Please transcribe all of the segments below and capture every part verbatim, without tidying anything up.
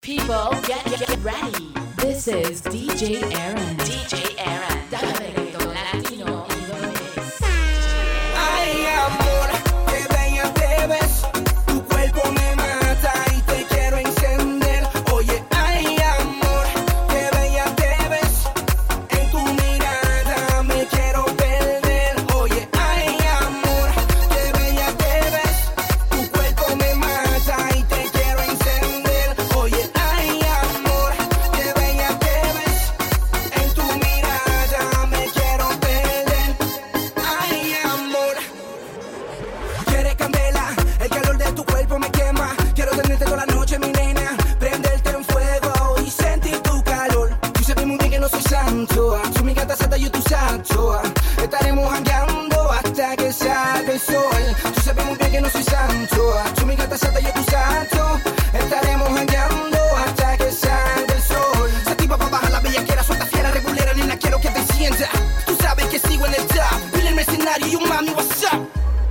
People, get, get, get ready. This is D J Aaron. D J Aaron. Dale reggaeton latino in the mix. Ay, amor, qué bella te ves. Tu cuerpo me mata y te quiero encender. Oye, ay, amor, qué bella te ves. En tu mirada me quiero perder. Oye, ay, amor, qué bella te ves. Tu cuerpo me mata y te quiero encender. Oye, ay, amor, qué bella te ves. En tu mirada me quiero perder. Ay, amor. Quieres candela, el calor de tu cuerpo me quema. Quiero tenerte toda la noche, mi nena. Prenderte en fuego y sentir tu calor. Tú sabes muy bien que no soy santo. ah. Tú mi gata santa, yo tu santo. ah. Estaremos jangueando hasta que salga el sol. Tú sabes muy bien que no soy santo. ah. Tú mi gata santa, yo tu santo. Estaremos jangueando hasta que salga el sol. Esa tipa pa' bajar la bellaquera, suelta fiera, regulera, nena, quiero que te sientas. Tú sabes que sigo en el top. Pile el mercenario y un mami, what's up?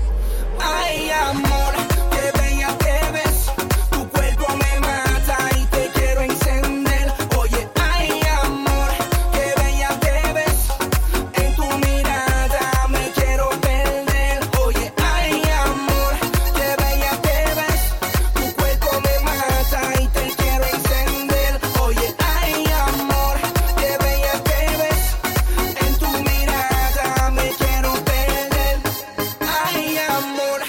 Ay, amor, qué bella te ves. Tu cuerpo me mata y te quiero encender. Oye, ay, amor, qué bella te ves. En tu mirada me quiero perder. Oye, ay, amor, qué bella te ves. Tu cuerpo me mata y te quiero encender. Oye, ay, amor, qué bella te ves. En tu mirada me quiero perder. Ay, amor.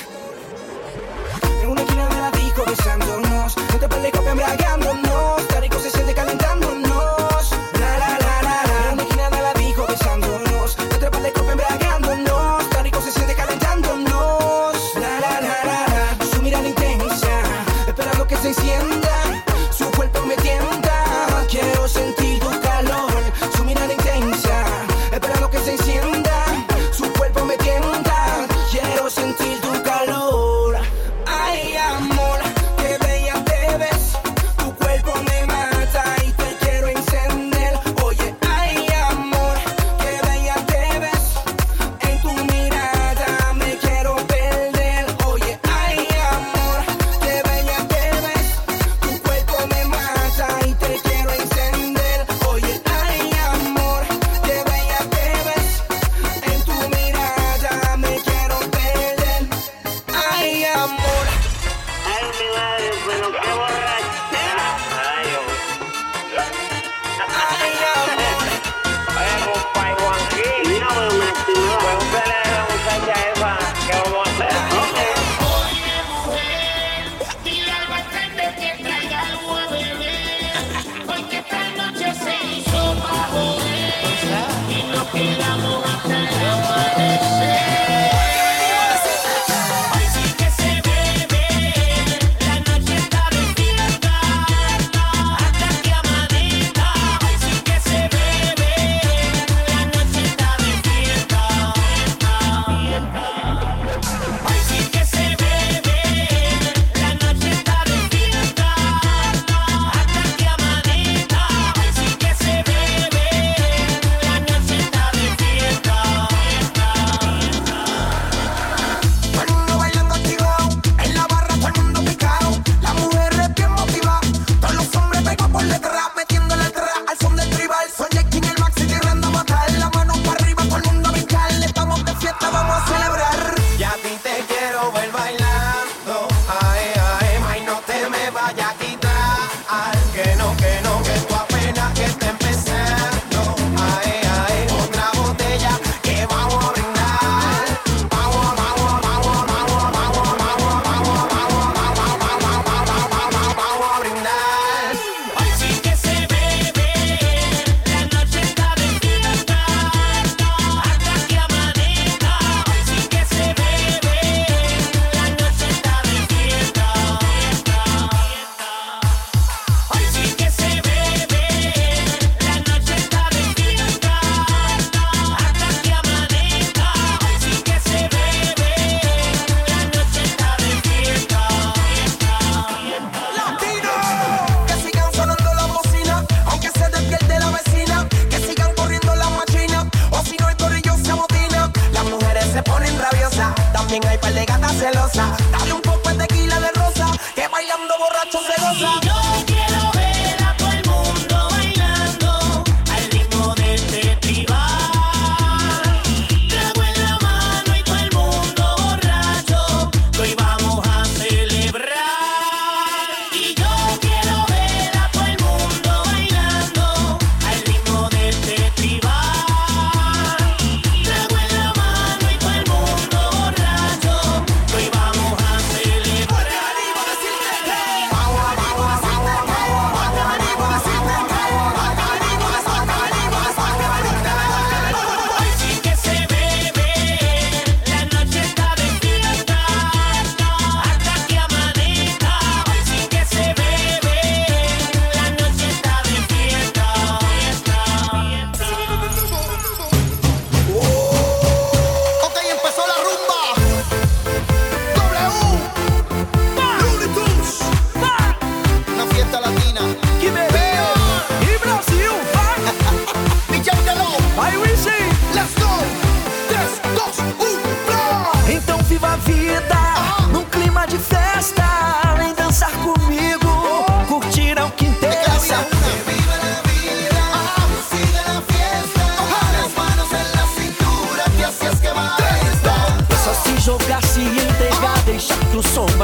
En una esquina de la disco besándonos. No te pelees con embriagándonos. Está rico, se siente calentándonos. La la la la la. En una esquina de la disco besándonos. No te pelees con embriagándonos. Está rico, se siente calentándonos. La la la la la. Su mirada intensa, esperando que se encienda. Su cuerpo me tienta. Quiero sentir tu calor. Su mirada intensa, esperando que se encienda. Su cuerpo me tienta. Quiero sentir tu calor. Ay, amor, qué bella te ves. Tu cuerpo me mata y te quiero encender. Oye, ay, amor, qué bella te ves. En tu mirada me quiero perder. Oye, ay, amor, qué bella te ves. Tu cuerpo me mata y te quiero encender. Oye, ay, amor, qué bella te ves. En tu mirada me quiero perder. Ay, amor. Ay, mi madre, pero qué borrachera. Ay, Dios. Ay, amor. Oye, compa, Juanquín. Mira, pero me estimó. Pregúntale a la muchacha esa qué vamos a hacer. Oye, mujer, dile al bartender que traiga algo a beber, porque esta noche se hizo pa' joder y nos quedamos hasta el amanecer. Hoy sí que se bebe, la noche está de fiesta, hasta que amanezca. Hoy sí que se bebe, la noche está de fiesta, fiesta. Hoy sí que se bebe, la noche está de fiesta, hasta que amanezca. Hoy sí que se bebe, la noche está de fiesta, fiesta. Todo el mundo bailando activado, en la barra todo el mundo picado. Las mujeres bien motivadas, todos los hombres pegados por detrás, metiéndole atrás al son del tribal. Son Jackie el Maxi tirando a matar, la mano para arriba, todo el mundo a brincar. Estamos de fiesta, vamos a celebrar. Y a ti te quiero ver bailando, ay, ay, ay, no te me vayas a quitar, que no, que no, que tú apenas que está empezando, ay, ay, otra botella que vamos a brindar, vamos, vamos, vamos, vamos, vamos, vamos, vamos, vamos, vamos, vamos, vamos, vamos a brindar. Hoy sí que se bebe, la noche está de fiesta, hasta que amanezca. Hoy sí que se bebe, la noche está de fiesta, fiesta, fiesta. Hoy sí que se bebe, la noche está de fiesta, hasta que amanezca. Hoy sí que se bebe, la noche está de fiesta, fiesta, fiesta. ¡Latino! Que sigan sonando las bocinas, aunque se despierte la vecina. Que sigan corriendo las machinas, o si no el corrillo se amotina. Las mujeres se ponen rabiosas, también hay par de gatas celosas. Dale un poco de tequila de rosa, que bailando borracho se goza. Y yo quiero ver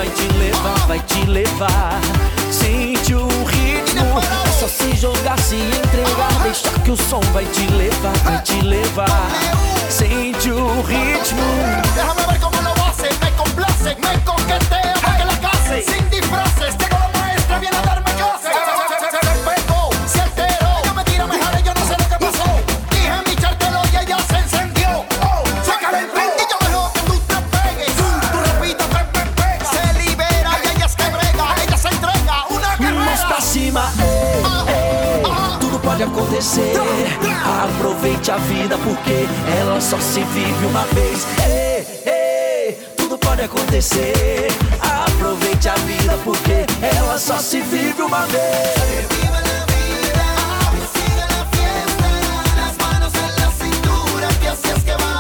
vai te levar, vai te levar. Sente o ritmo, é só se jogar, se entregar, deixa que o som vai te levar, vai te levar. Sente o ritmo. Déjame ver cómo lo hace, me complace, me coquetea para que la case. Sin disfraces, llegó la maestra, viene a darme clase. Se despegó, se alteró, ella me tira, me jale, yo no sé lo que pasó. Dije mi chartelo y ella se encendió. Oh, se calentó y yo dejo que tú te pegues. Tú repitas, pe, pe, pega. Se libera y ella es que brega, ella se entrega, una guerrera. Mãos pra cima, ei, ei, tudo pode acontecer. Aproveite a vida porque ela só se vive uma vez. Ei, ei, tudo pode acontecer. Aproveite a vida porque ela só se vive uma vez. Viva la vida, que siga la fiesta, las manos en la cintura, que así es que va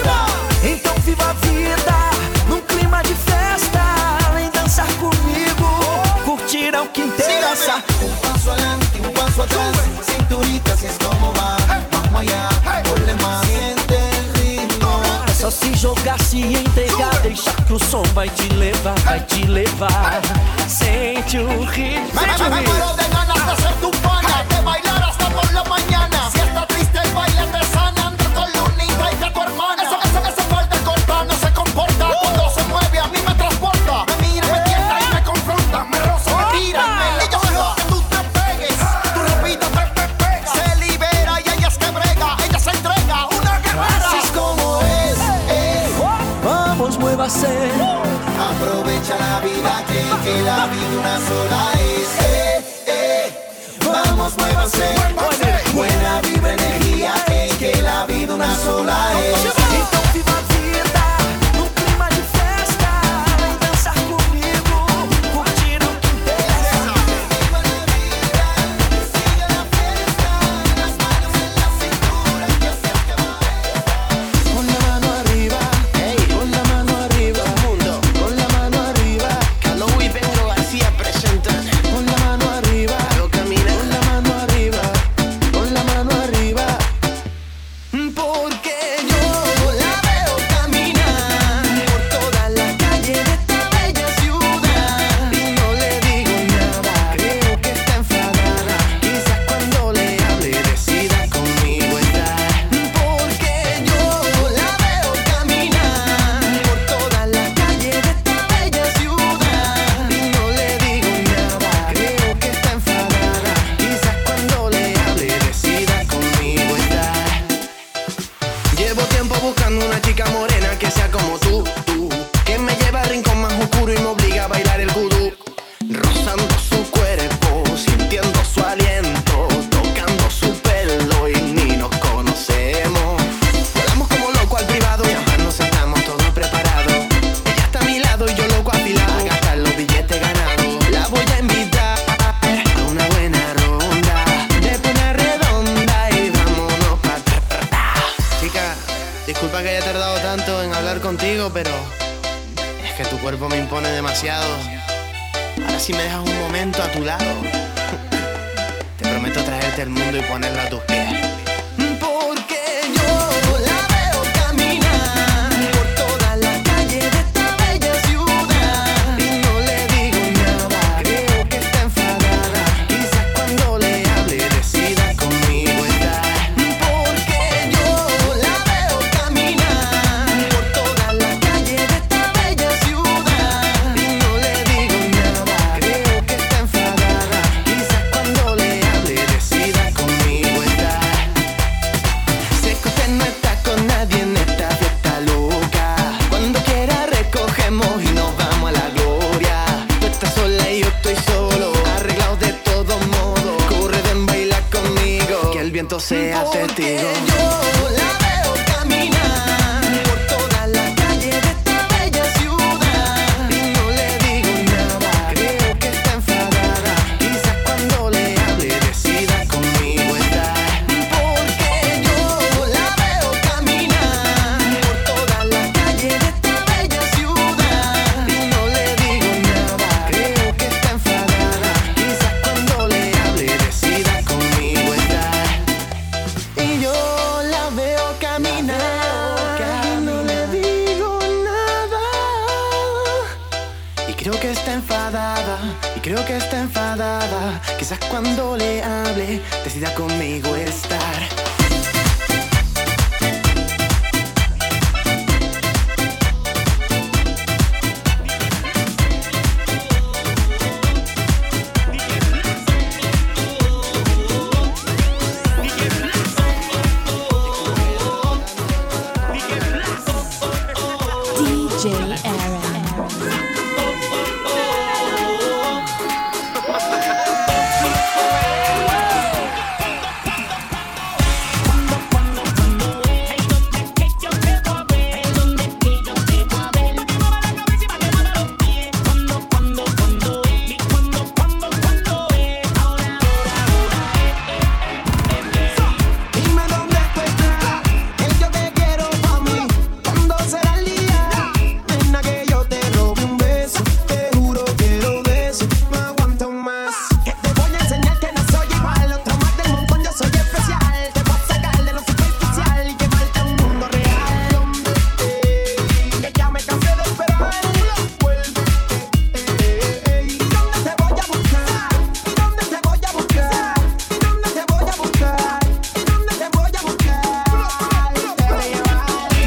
a ir. Então viva a vida num clima de festa. Vem dançar comigo, curtir é o que interessa. Un paso adelante, un paso atrás, cinturita, así es como va. Vamos allá, ponle más, siente el ritmo. É só se jogar, se entregar, deixar que o som vai te levar, vai te levar. Sente o ritmo. Me, me, me muero de ganas de ser tu pana, de bailar hasta por la mañana. Si está triste el baile te sana, anda con Lunita y a tu hermana. Esa, esa, esa falta corta no se comporta, cuando se mueve a mí me transporta. Me mira, me tienta y me confronta, me roza, me tira y me y yo dejo que tú te pegues. Tú repitas, pe, pe, pega. Se libera y ella es que brega, ella se entrega, una guerrera. Así es como es, ey. Vamos, muévase. Aprovecha la vida, que, que la vida una sola es. Eh, eh. Vamos, muévanse. Buena vibra, energía, que, que la vida una sola es. Então viva a vida num clima de festa. Vem dançar comigo, curtir o que interessa. Viva la vida, que siga la fiesta, las manos en la cintura, que así es que va a ir. Con la mano arriba, ey, con la mano arriba, mundo, con la mano arriba. Carlos y Pedro García presentan. Con la mano arriba, lo camina. Con la mano arriba, con la mano arriba. Porque yo la veo caminar por toda la calle de esta bella ciudad y no le digo nada. Creo que está enfadada. Quizás cuando le hable decida conmigo estar. Porque yo la veo caminar por toda la calle de esta bella ciudad y no le digo nada. Creo que está enfadada. Quizás cuando le hable decida conmigo estar. Llevo tiempo buscando una chica morena que sea como tú, tú, que me lleva al rincón más oscuro y me obliga a bailar el vudú, rozando su cuerpo, sintiendo su aliento, tocando su pelo y ni nos conocemos. Volamos como locos al privado y ambas nos estamos todos preparados. Ella está a mi lado y yo loco afilado a gastar los billetes ganados. La voy a invitar a una buena ronda de pena redonda y vámonos pa' atrás. Chica, disculpa que haya tardado tanto en hablar contigo, pero es que tu cuerpo me impone demasiado. Ahora si me dejas un momento a tu lado, te prometo traerte el mundo y ponerlo a tus pies. Porque yo la veo caminar por toda la calle de esta bella ciudad y no le digo nada. Creo que está enfadada. Quizás cuando le hable decida conmigo estar. Porque yo la veo caminar por toda la calle de esta bella ciudad y no le digo nada. Creo que está enfadada. Quizás cuando le hable decida conmigo estar. Sé que usted no está con nadie en esta fiesta loca. Cuando quiera recogemos y nos vamos a la gloria. Tú estás sola y yo estoy solo, arreglados de todos modos. Corre, ven, baila conmigo, que el viento sea testigo. Yo la veo caminar por toda la calle de esta bella ciudad y no le digo nada. Creo que está enfadada. Quizás cuando le hable decida conmigo estar. Porque yo la veo caminar por toda la calle de esta bella ciudad y no le digo nada. Creo que está enfadada. Quizás cuando le hable decida conmigo estar. Y yo la veo que está enfadada. Quizás cuando le hable decida conmigo estar. D J Aaron. Dime dónde tú estás, que yo te quiero pa' mí. ¿Cuándo será el día? Nena, que yo te robe un beso. Te juro que lo de eso no aguanto más. Que te voy a enseñar que no soy igual. Otro más del montón, yo soy especial. Te voy a sacar de lo superficial y llevarte a un mundo real. Hombre, eh, que ya me cansé de esperar. Vuelve, eh, eh, ¿y dónde te voy a buscar? ¿Y dónde te voy a buscar? ¿Y dónde te voy a buscar? ¿Y dónde te voy a buscar? Te voy a llevar.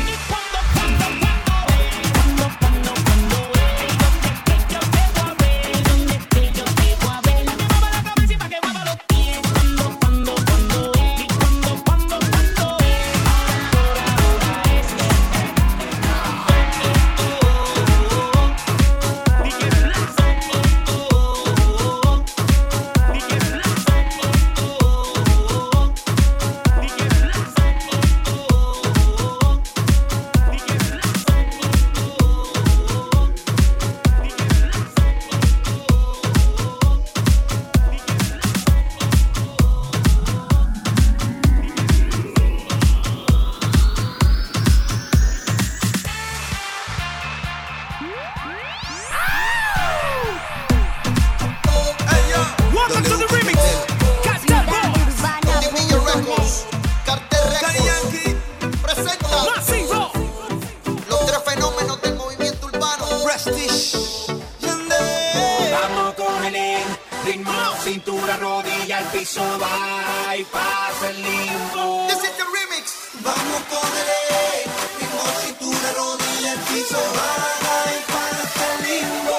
Welcome to the remix. Cartel Boys. Daddy Yankee. Presenta Masivo. los tres fenómenos del movimiento urbano. Prestige. Vamos con el ritmo, cintura, rodilla, al piso, va y pasa el limbo. This is the remix. Vamos con el ritmo, cintura, rodilla, el piso, baja y pasa el limbo.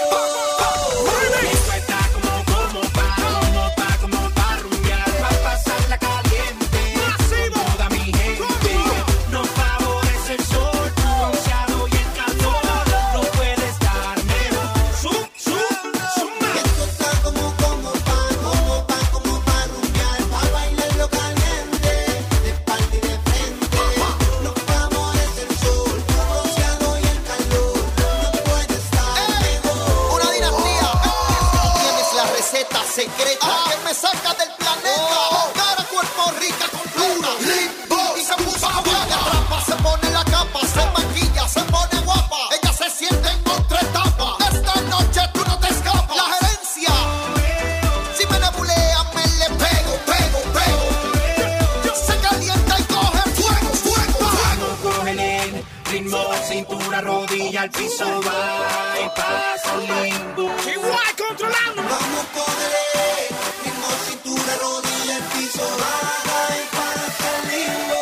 Esto está como, como pa, como pa, como pa rumbear, pa' pasarla caliente. Con toda mi gente, nos favorece el sol, tu bronceado y el calor. No puede estar mejor. Zum, zum, zum. Esto está como, como pa, como pa, como pa rumbear, pa' bailarlo caliente, de espalda y de frente. Nos favorece el sol, tu bronceado y el calor. No puede estar mejor. Una dinastía. Tienes la receta secreta que me saca del planeta. Cara, cuerpo, rica, completa. Y se puso a guapa. Rapa, se pone la capa, se maquilla, se pone guapa. Ella se siente en otra etapa. Esta noche tú no te escapas. La gerencia. Si me nebulean, me le pego, pego, pego. Se calienta y coge fuego, fuego. Vamos con el ritmo, cintura, rodilla, al piso, va y pasa el limbo. Igual controlando. Vamos con el ritmo, cintura, rodilla, el piso, baja y pasa el limbo.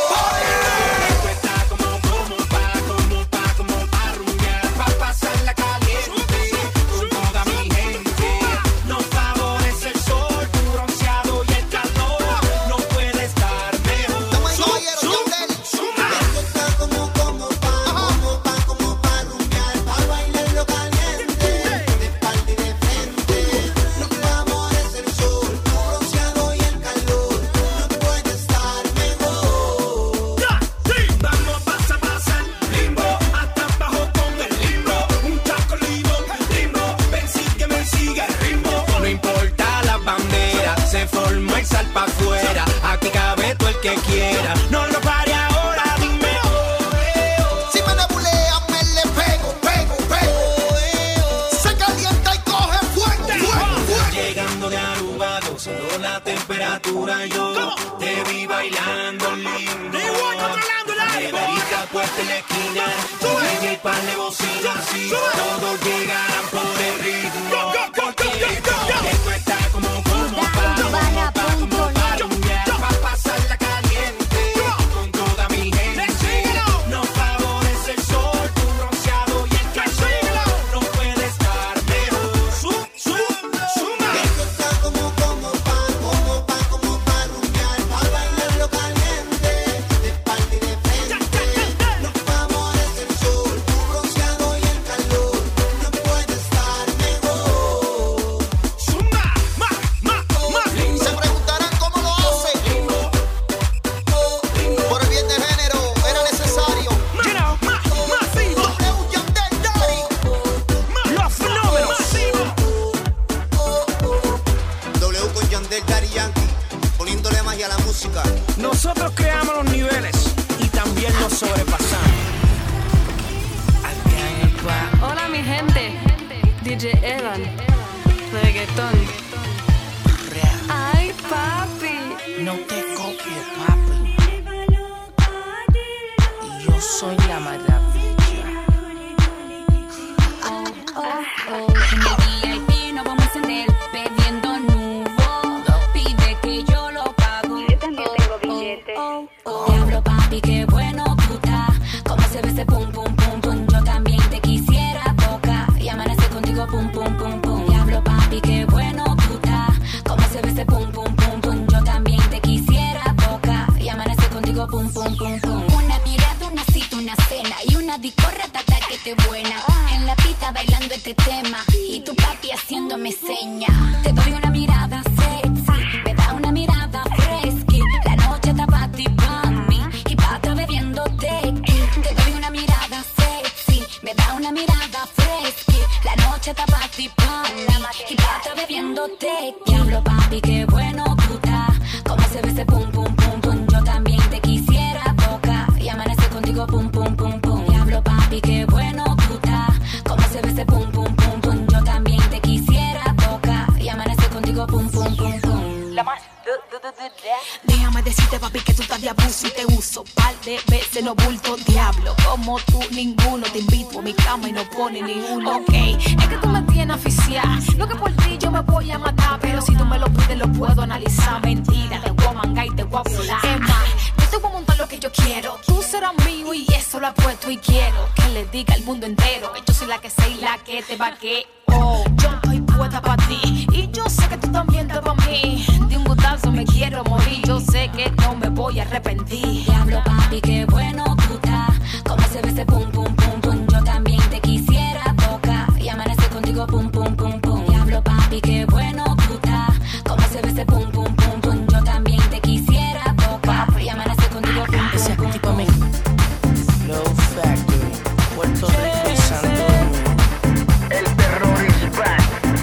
Esto está como, como pa, como pa, como pa rumbear, pa' pasarla caliente. Con toda mi gente, nos favorece el sol, tu bronceado y el calor. No puede estar mejor. Damas y caballeros, Yandel. Esto está como, como pa, como pa, como pa rumbear, pa' bailarlo caliente, de espalda y de frente. Nos favorece el sol, tu bronceado y el calor. No puede estar mejor. Vamos, pasa, pasa el limbo, hasta abajo con el limbo. Un taco limbo, limbo, ven, sígueme, sigue el ritmo. No importa la bandera, se formó el sal pa' afuera. Aquí cabe todo el que quiera, no lo pare ahora, dime. Si me nebulean, me le pego, pego, pego. Se calienta y coge fuego, fuego, fuego. Llegando de Aruba, gozando la temperatura, yo te vi bailando lindo. Neverita puesta en la esquina, D J par de bocinas, y todos llegarán por el ritmo. porque esto está como, como pa, como pa, como pa rumbear, pa pasarla caliente con toda mi gente. Nos favorece el sol, tu bronceado y el calor. No puede estar mejor. Sum, sum, suma. Esto está como, como pa, como pa, como pa rumbear, pa bailarlo caliente, de espalda y de frente. Nos favorece el sol, tu bronceado y el calor. No puede estar mejor. Suma, ma, ma, ma. Se preguntarán cómo lo hace. Por el bien de género era necesario. You know, ma, masivo. W Yandel Daddy. Los fenómenos. W con Yandel Daddy Yankee, poniéndole magia a la música. Nosotros creamos los niveles y también los sobrepasamos. Hola mi gente, D J Evan, reggaetón. Ay papi, No te copies, papi. Y yo soy la maravilla. En el V I P nos vamos a encender bebiendo nubo. Pide que yo lo pago. Yo también tengo billete. Diablo papi, qué bueno tú estás. Como se ve ese pum pum pum pum. Yo también te quisiera tocar y amanecer contigo pum pum pum pum. Diablo papi, qué bueno tú estás. Como se ve ese pum pum pum pum. Yo también te quisiera tocar y amanecer contigo pum pum pum pum. Una mirada, una cita, una cena y una discorratata que te buena. En la pista bailando este tema y tu papi haciéndome seña. Te doy una mirada sexy, me da una mirada fresca. La noche está pa' ti, pa' mí y pa' estar bebiendo tequi. Te doy una mirada sexy, me da una mirada fresca. La noche está pa' ti, pa' mí y pa' estar bebiendo tequi. Diablo papi, qué bueno tú estás. Como se ve ese pum pum pum pum. Yo también te quisiera tocar y amanecer contigo pum pum pum pum. Diablo papi, qué bueno tú estás. Como se ve ese pum pum pum pum. Yo también te quisiera tocar y amanecer contigo pum pum pum pum. La más. Déjame decirte, papi, que tú estás de abuso y te uso par de veces los bultos, diablo. Como tú, ninguno. Te invito a mi cama y no pone ni uno. Ok, es que tú me tienes aficiada. Lo que por ti yo me voy a matar, pero si tú me lo pides, lo puedo analizar. Mentira, te voy a mangar y te voy a violar. Es más, yo te voy a montar lo que yo quiero. Tú serás mío y eso lo apuesto y quiero que le diga al mundo entero que yo soy la que sé y la que te vaqueo. Yo estoy puesta para ti y yo sé que tú también estás para mí. De un gustazo me quiero morir. Yo sé que no me voy a arrepentir. Diablo papi, qué bueno tú estás. Como se ve ese pum pum pum pum. Yo también te quisiera tocar y amanecer contigo pum pum pum pum. Diablo papi, qué bueno tú estás. Como se ve ese pum pum pum pum. Yo también te quisiera tocar y amanecer contigo pum Ese pum pum tipo a mí. pum. Flow Factory, Puerto Rico y Santo Domingo. El terror is back.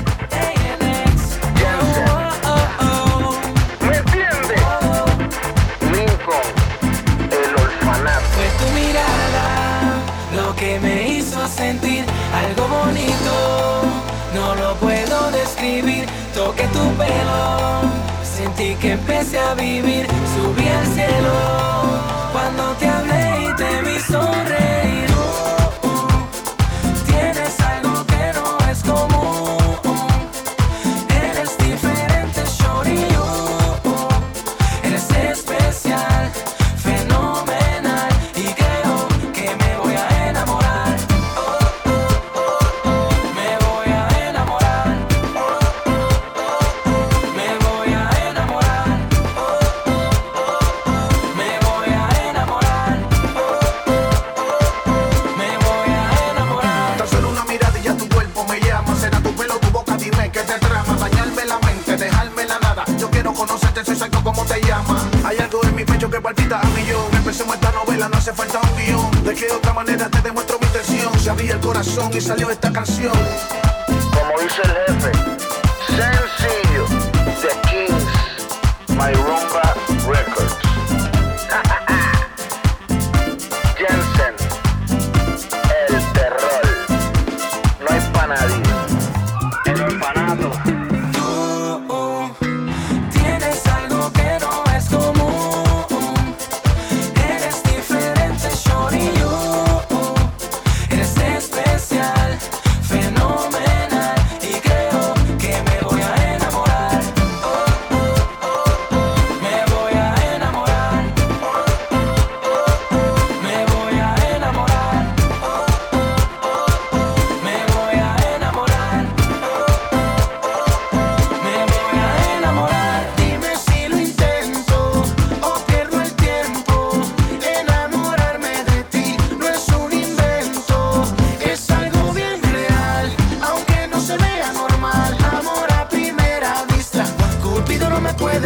Jansen. ¿Me entiendes? Lincoln, el orfanato. Fue tu mirada lo que me hizo sentir algo bonito. No lo puedo describir. Toqué tu pelo, sentí que empecé a vivir. Subí al cielo cuando te hablé y te vi sonreír. Uh, uh, tienes algo que no es común. Eres diferente, shorty. Uh, uh, eres especial, fenomenal y creo que me voy a enamorar. Uh, uh, uh, uh, me voy a enamorar. Uh, uh, uh, uh, me voy a enamorar. Uh, uh, uh, uh, me voy a enamorar. Uh, uh, uh, uh, me voy a enamorar. Tan solo una mirada y ya tu cuerpo me llama. Será tu pelo, tu boca, dime qué te trama. Dañarme la mente, dejarme la nada. Yo quiero conocerte, soy exacto como te llamas. Hay algo en mi pecho que palpita a millón. Empecemos esta novela, no hace falta un guión. De qué otra manera te demuestro mi intención. Se abría el corazón y salió esta canción. Como dice el jefe, sencillo. The Kings, My Rumba Records. Jansen, el terror. No hay pa' nadie. El orfanato. Uh, uh, tienes algo que no es común. Eres diferente, shorty. Uh, uh, eres especial, fenomenal y creo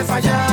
fallar.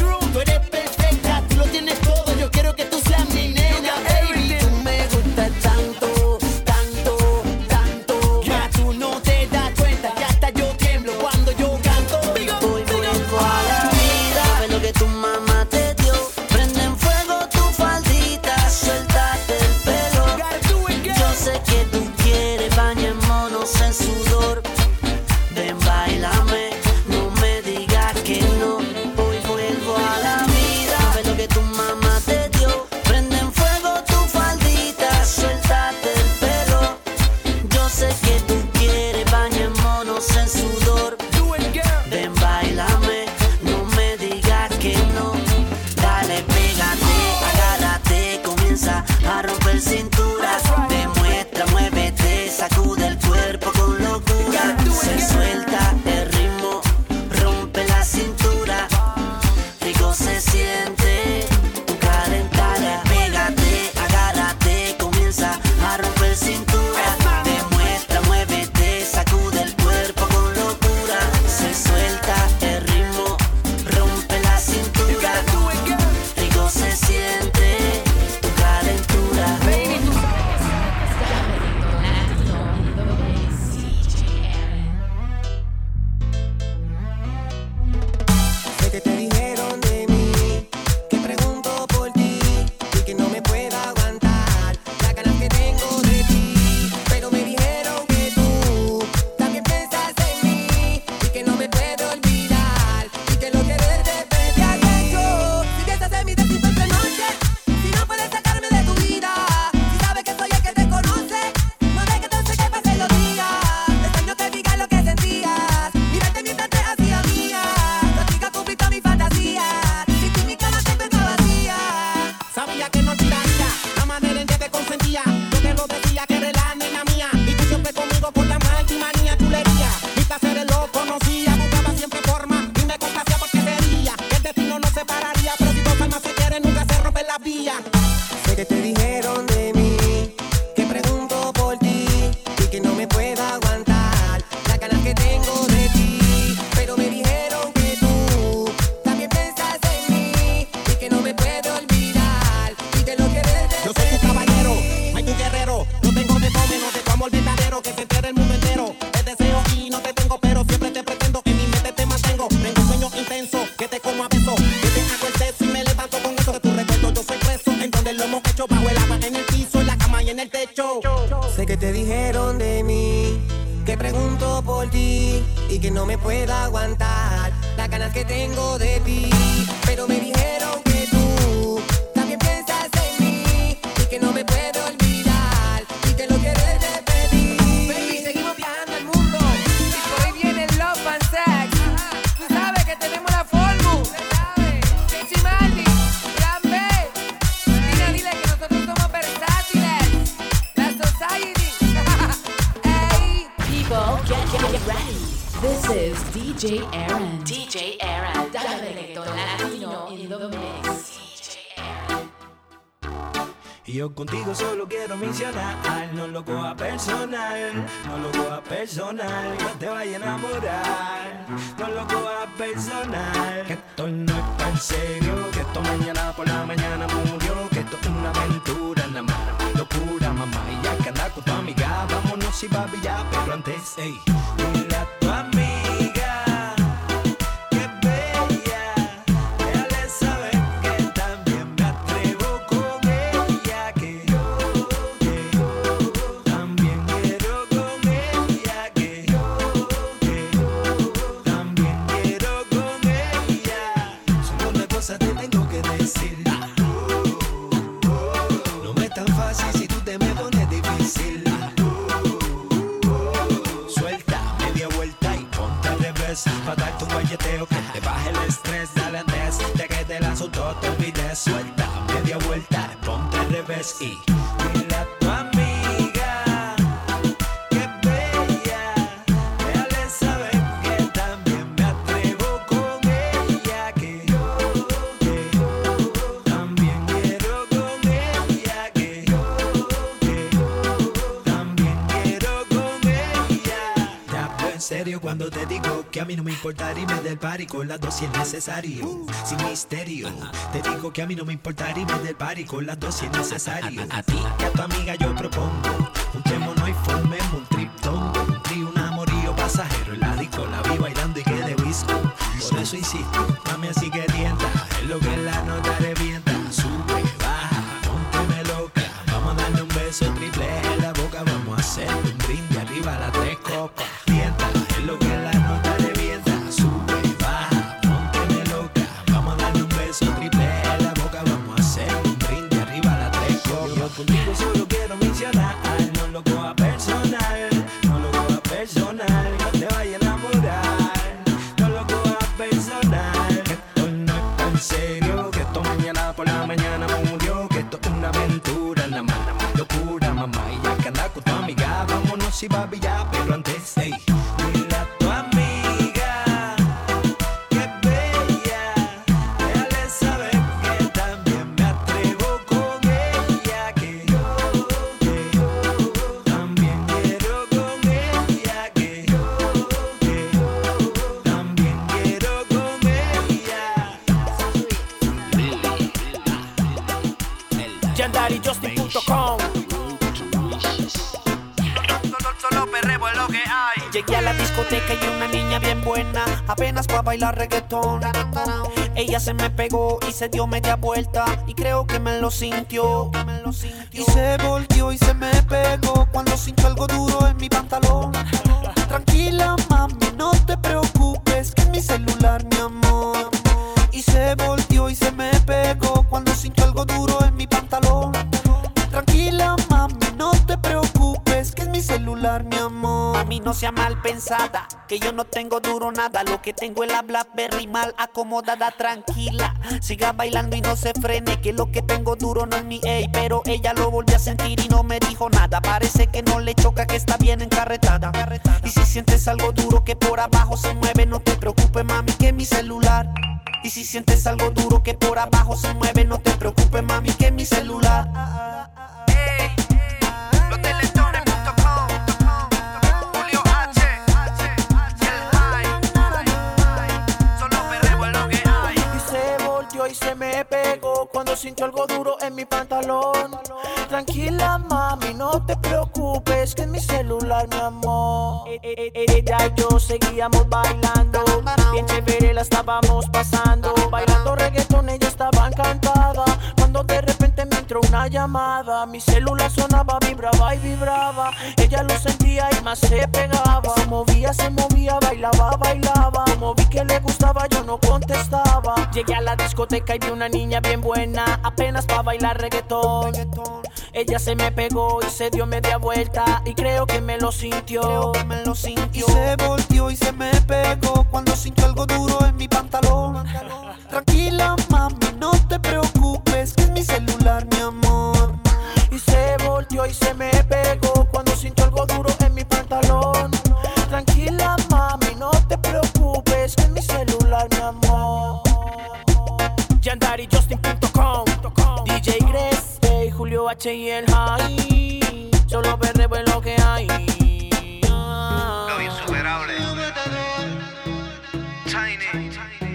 Tú eres perfecta, tú lo tienes todo, yo quiero que tú seas mi nena, baby. Tú me gustas tanto. Sé que te dijeron de mí, que pregunto por ti y que no me puedo aguantar las ganas que tengo de ti. Pero me dijeron que tú también piensas en mí y que no me puedo olvidar y que lo quieres repetir. ¿Qué has hecho? Si piensas en mí de cinco entre noche, si no puedes sacarme de tu vida, si sabes que soy el que te conoce, no dejes entonces que pasen los días. Extraño que digas lo que sentías, mírate mientras te hacía mía. Contigo cumplí todas mis fantasías y tú mi cama siempre está vacía. Sabía que no olvidaría la manera en que te consentía. Yo te lo decía que eres la nena mía y tú siempre conmigo por la manía, chulería. Mis placeres los conocía, buscaba siempre forma y me complacía porque quería que el destino nos separaría. Pero si dos almas se quieren, nunca se rompen las vías. Sé que te dijeron de mí, que pregunto por ti y que no me puedo aguantar las ganas que tengo de ti. Pero me dijeron que tú también piensas en mí y que no me puedo olvidar y que lo quieres repetir. Yo soy tu caballero, no hay tu guerrero. No tengo de fome, no de tu amor verdadero que se entere el mundo entero. Te deseo y no te tengo, pero siempre te pretendo. En mi mente te mantengo, tengo un sueño intenso que te como a beso, que te hago el sexo y me levanto con eso de tu recuerdo. Yo soy preso en donde lo hemos hecho, bajo el agua, en el piso, en la cama y en el techo. Sé que te dijeron de mí, que pregunto por ti y que no me puedo aguantar las ganas que tengo de ti. Pero me dijeron que tú también piensas en mí y que no me puedo olvidar y que lo quieres repetir. Baby, seguimos viajando al mundo y por ahí viene el Love and Sex. Tú sabes que tenemos la fórmula. Chimaldi, Plan B. Dile, dile que nosotros somos versátiles. La Society. Ey. People, get, get, get ready. This is D J Aaron. D J Aaron, Director Latino in the mix. Y yo contigo solo quiero mencionar, no lo coja personal, no lo coja personal, no te vaya a enamorar, no lo coja personal, que esto no es tan serio, que esto mañana por la mañana murió, que esto es una aventura, nada más, locura, mamá, y ya que anda con tu amiga, vámonos y papi ya, pero antes, ey, dile a tu amiga, que es bella, déjale saber que también me atrevo con ella, que yo, que yo, también quiero con ella, que yo, que yo, también quiero con ella, solo una cosa te tengo que decir, no me es tan fácil si tú te me pones difícil. Suelta media vuelta y ponte al revés, pa' darte un guayeteo que te baje el estrés. Dale antes de que te la asunto te olvides. Suelta media vuelta, ponte al revés y dile a tu amiga que es bella, déjale saber que también me atrevo con ella, que yo, que yo, también quiero con ella, que yo, que yo, también quiero con ella. Te hablo en serio cuando te digo que a mí no me importa irme del party con las dos si es necesario, sin misterio. Te digo que a mí no me importa irme del party con las dos si es necesario. A, a, a ti y a tu amiga yo propongo juntémonos y formemos un triptón, un trío, un amorío pasajero en la disco, la vi bailando y quedé disco. Por eso insisto, mami, así que tienta, es lo que la nota revienta. Sube, baja, pónteme loca, vamos a darle un beso triple en la boca, vamos a hacer un brindis arriba a las tres copas. Tienta, es lo que la nota revienta. Sube, baja, pónteme loca, vamos a darle un beso triple en la boca, vamos a hacer un brindis arriba a las tres copas. Yo contigo solo quiero mencionar, no lo coja personal, no lo coja personal, no te vaya a enamorar, no lo coja personal, que esto no es tan serio, que esto mañana por la mañana murió, que esto es una aventura, nada más, locura, mamá, y ya que anda con tu amiga, vámonos y papi ya, pero antes, ey, dile a tu amiga que es bella, déjale saber que también me atrevo con ella, que yo, que yo, también quiero con ella, que yo, que yo, también quiero con ella. Yandari Justin punto com. Solo perreo es lo que hay. Llegué a la discoteca y una niña bien buena, apenas pa' bailar reggaetón. Ella se me pegó y se dio media vuelta y creo que me lo sintió. Y se volteó y se me pegó cuando sintió algo duro en mi pantalón. Tranquila mami, no te preocupes, que es mi celular, mi amor. Y se volteó y se me pegó cuando sintió algo duro en mi pantalón. Tranquila mami, no te preocupes, que es mi celular, mi amor. Mami, no sea mal pensada, que yo no tengo duro nada. Lo que tengo es la Blackberry mal acomodada. Tranquila, siga bailando y no se frene, que lo que tengo duro no es mi ey. Pero ella lo volvió a sentir y no me dijo nada. Parece que no le choca, que está bien encarretada. Y si sientes algo duro que por abajo se mueve, no te preocupes mami, que es mi celular. Y si sientes algo duro que por abajo se mueve, no te preocupes mami, que es mi celular. Hey, los teletón punto com, Julio H, el high, solo perreo es lo que hay. Y se volteó y se me pegó cuando sintió algo duro en mi pantalón. Tranquila mami, no te preocupes, que es mi celular, mi amor. Ella y yo seguíamos bailando, bien chévere la estábamos pasando. Bailando reggaetón, ella estaba encantada, cuando de repente me entró una llamada. Mi celular sonaba, vibraba y vibraba. Ella lo sentía y más se pegaba. Se movía, se movía, bailaba, bailaba. Como vi que le gustaba, yo no contestaba. Llegué a la discoteca y vi una niña bien buena, apenas pa' bailar reggaetón. Ella se me pegó y se dio media vuelta y creo que me lo sintió. Creo que me lo sintió. Y se volteó y se me pegó cuando sintió algo duro en mi pantalón. Tranquila mami, no te preocupes, que es mi celular, mi amor. Y se volteó y se me pegó cuando sintió algo duro en mi pantalón. Tranquila mami, no te preocupes, que es mi celular, mi amor. Yandari Justin punto com, D J Gress, hey, Julio H y el high. Solo perreo es lo que hay. Lo insuperable. Tiny.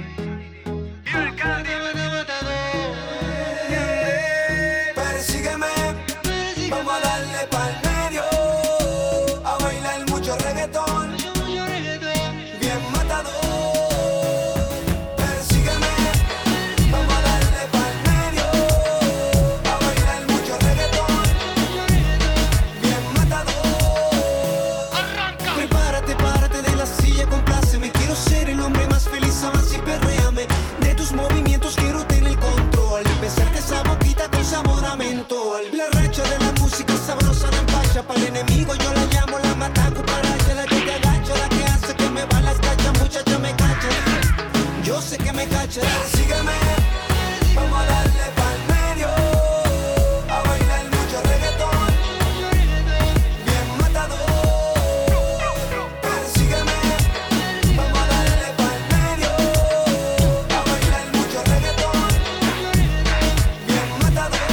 Persígueme, vamos a darle pa'l medio, a bailar mucho reggaetón, bien matador. Persígueme, vamos a darle pa'l medio, a bailar mucho reggaetón, bien matador. Arranca. Prepárate, párate de la silla, compláceme. Quiero ser el hombre más feliz, avanza y perréame. De tus movimientos quiero tener el control, besarte esa boquita con sabor a mentol. La racha de la música sabrosa no empacha. Para el enemigo yo la llamo la mataco. Para ella la que te agacha, la que hace que me va las cachas. Muchacha me cacha, yo sé que me cacha. Sígueme, vamos a darle pa'l medio, a bailar mucho reggaetón, bien matador. Persígueme, vamos a darle pa'l medio, a bailar mucho reggaetón, bien matador.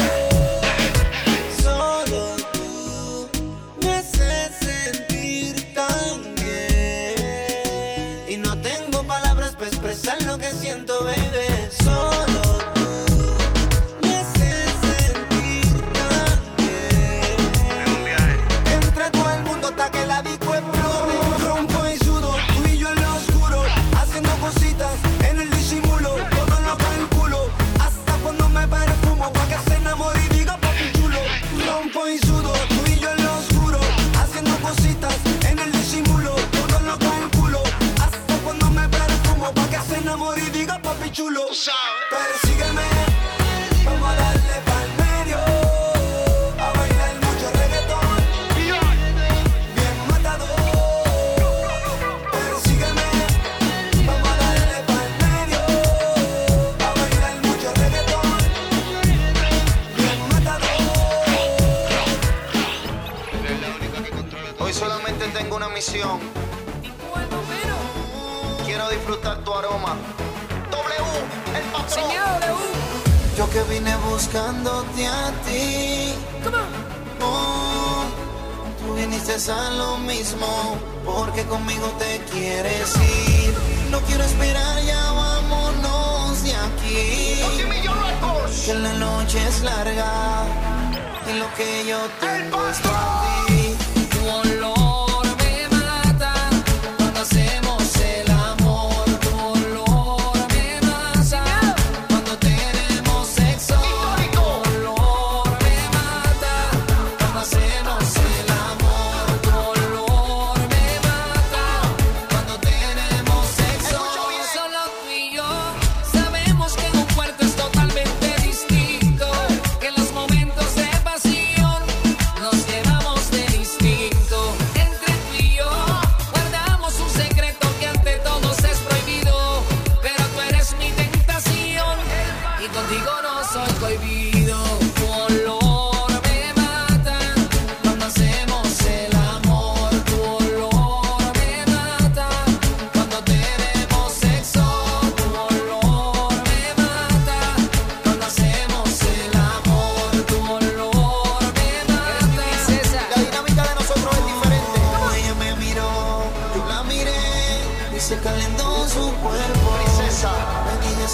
Solo tú me haces sentir tan bien y no tengo palabras para expresar lo que siento, baby. Solo tú me haces sentir tan bien. Entre todo el mundo está que la disco explode. Rompo y sudo, tú y yo en lo oscuro, haciendo cositas en el disimulo. Todo lo calculo, hasta cuando me perfumo, pa' que se enamore y diga papi chulo. Rompo y sudo, tú y yo en lo oscuro, haciendo cositas en el disimulo. Todo lo calculo, hasta cuando me perfumo, pa' que se enamore y diga papi chulo. Persígueme, vamos a darle pa'l medio, a bailar mucho reggaetón, bien matador. Persígueme, vamos a darle pa'l medio, a bailar mucho reggaetón, bien matador. Hoy solamente tengo una misión. Quiero disfrutar tu aroma. W, el patrón. Yo que vine buscándote a ti. Oh, tú viniste a lo mismo, porque conmigo te quieres ir. No quiero esperar, ya vámonos de aquí. Que la noche es larga y lo que yo tengo es para ti. Tu olor me mata.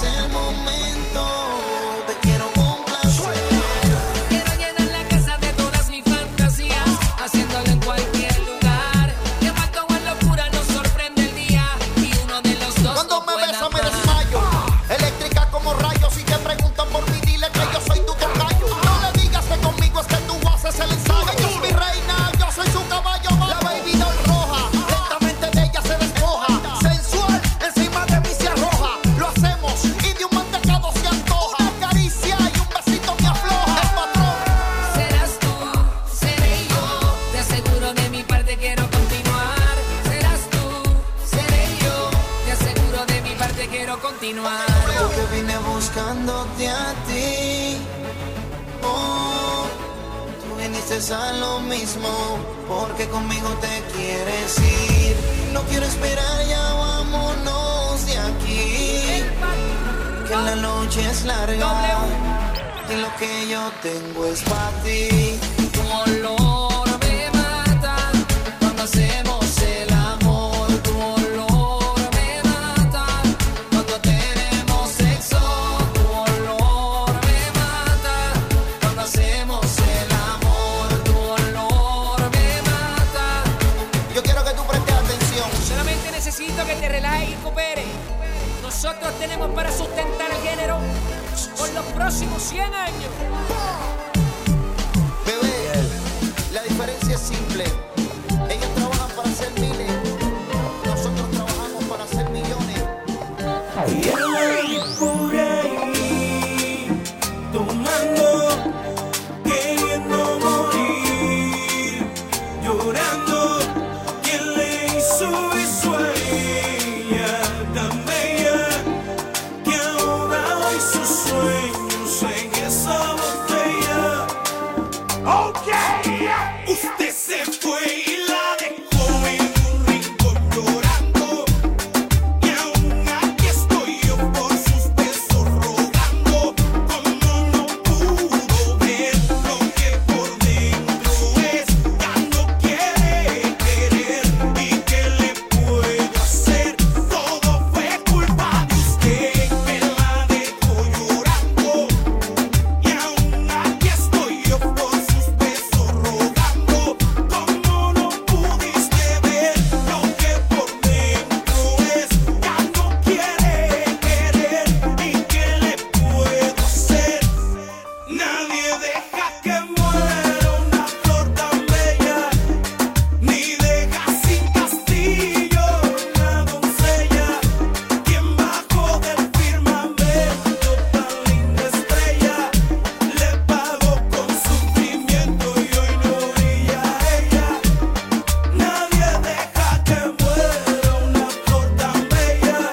es el momento. Te quiero complacer. Quiero llenar la casa de todas mis fantasías, haciéndolo en cualquier lugar. Que falta o en locura nos sorprende el día y uno de los dos Cuando no me pueda besa me parar. desmayo. Eléctrica como rayos. Si te preguntan por mí, dile que yo soy tu tocayo. No le digas que conmigo es que tú haces el ensayo. Ella es mi reina, yo soy su caballo. La baby doll roja, lentamente de ella se despoja. Sensual, encima de mí se arroja. Lo hacemos y de un mantecado se antoja. Una caricia y un besito me afloja. El patrón. Serás tú, seré yo. Te aseguro de mi parte quiero continuar. Serás tú, seré yo. Te aseguro de mi parte quiero continuar. Porque vine buscándote a ti. Oh, tú viniste a lo mismo. Porque conmigo te quieres ir. No quiero esperar, ya vámonos de aquí. Que la noche es larga. Y lo que yo tengo es para ti. Tu olor me mata cuando hacemos el amor. Tu olor me mata cuando tenemos sexo. Tu olor me mata cuando hacemos el amor. Tu olor me mata. Yo quiero que tú prestes atención. Solamente necesito que te relajes y cooperes. Nosotros tenemos para sustentar el género por los próximos cien años. Bebé, la diferencia es simple. Ellos trabajan para hacer miles. Nosotros trabajamos para hacer millones. Y él ahí por ahí, tomando, queriendo morir, llorando. ¿Quién le hizo eso a ella tan bella que ahora hay sus sueños en esa botella? Ok, usted se fue y la dejó en un rincón llorando. Y aún aquí estoy yo por sus besos rogando. Como no pudo ver lo que por dentro es, ya no quiere querer. ¿Y qué le puedo hacer? Todo fue culpa de usted que la dejó llorando. Y aún aquí estoy yo por sus besos rogando. Como no pudiste ver lo que por dentro es, ya no quiere querer. ¿Y qué le puedo hacer? Nadie deja que muera una flor tan bella, ni deja sin castillo una doncella. Quien bajó del firmamento tan linda estrella, le pagó con sufrimiento y hoy no brilla ella. Nadie deja que muera una flor tan bella,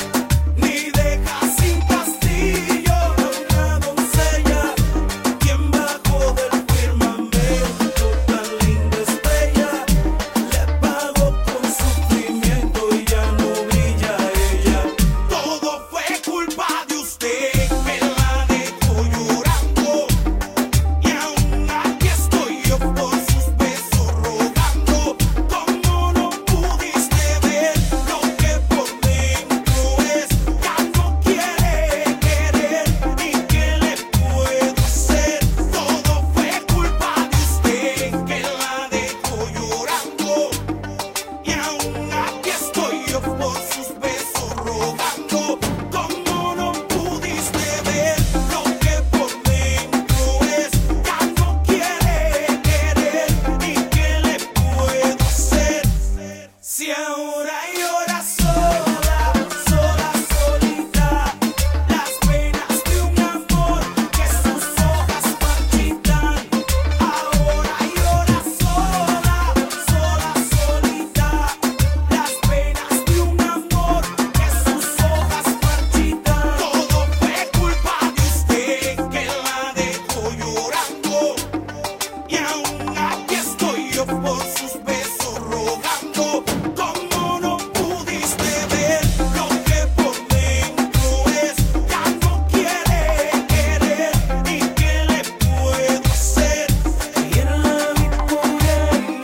ni deja sin castillo una doncella. Quien bajó del firmamento tan linda estrella, le pagó con sufrimiento y ya no brilla ella. Todo fue culpa de usted que la dejó llorando. Y aún aquí estoy yo por sus besos rogando. Como no pudiste ver lo que por dentro es, ya no quiere querer. ¿Y qué le puedo hacer? Todo fue culpa de usted que la dejó llorando. Y aún aquí estoy yo por sus besos rogando. Como no pudiste ver lo que por dentro es, ya no quiere querer. ¿Y qué le puedo hacer? Si ahora llora sola, sola, solita, las penas de un amor que sus hojas marchitan. Ahora llora sola, sola, solita, las penas de un amor que sus hojas marchitan. Todo fue culpa de usted que la dejó llorando. Y aún aquí estoy yo por sus besos rogando. Como no pudiste ver lo que por dentro es, ya no quiere querer. ¿Y qué le puedo hacer? Y él la vi por ahí.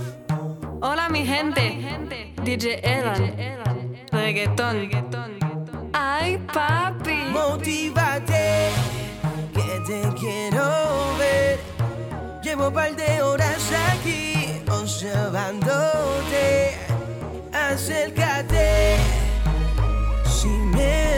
Hola mi gente, D J Edan, reggaetón. Ay, papi. Motívate, que te quiero ver. Llevo un par de horas aquí observándote. Acércate sin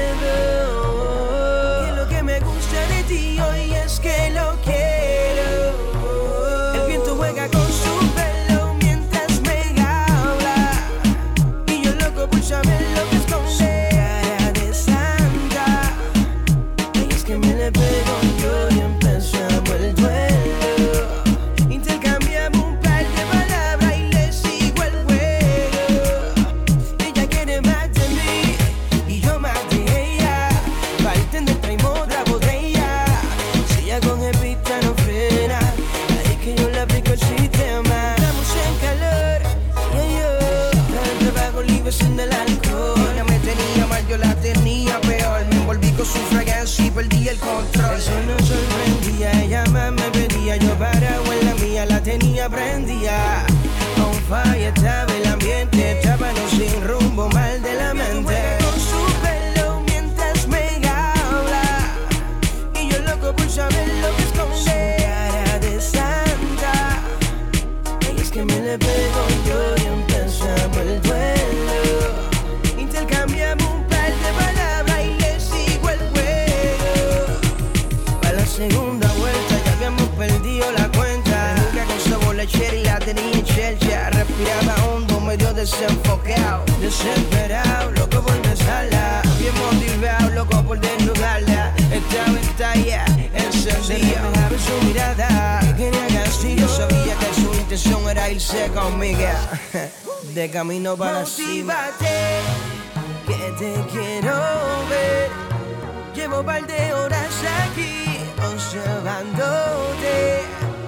miedo. Que lo que me gusta de ti hoy es que lo quiero. El viento juega con su pelo mientras me habla. Y yo loco por saber lo que esconde. Cara de santa. Y es que me le pego yo y empezamos el duelo. Intercambiamos un par de palabras y le sigo el juego. Ella quiere más de mí y yo más de ella. Bartender, traemos otra botella. Si ella con el pista no frena, ahí que yo le aplico el sistema. Estamos en calor, ella y yo. El trabajo libre sin el alcohol. Ella me tenía mal, yo la tenía peor. Me envolví con su fragancia y perdí el control. Eso no sorprendía, ella más me pedía. Yo parado en la mía, la tenía prendida. On fire estaba el ambiente, estábamos sin rumbo, mal de la mente. Con su pelo mientras me habla. Y yo loco por saber lo que esconde. Cara de santa. Y es que me le pego yo y empezamos el duelo. Intercambiamos un par de palabras y le sigo el juego. Para la segunda vuelta ya habíamos perdido la cuenta. Nunca con sabor lechera y la tenía en chelcha. Respiraba hondo, medio desenfocado. Desesperado, loco por besarla. Bien motivado, loco por desnudarla. Esta ventana encendida, dejaba su mirada. Que quería castigo, sabía que su intención era irse conmigo. De camino para la cima. Motívate, que te quiero ver. Llevo un par de horas aquí observándote.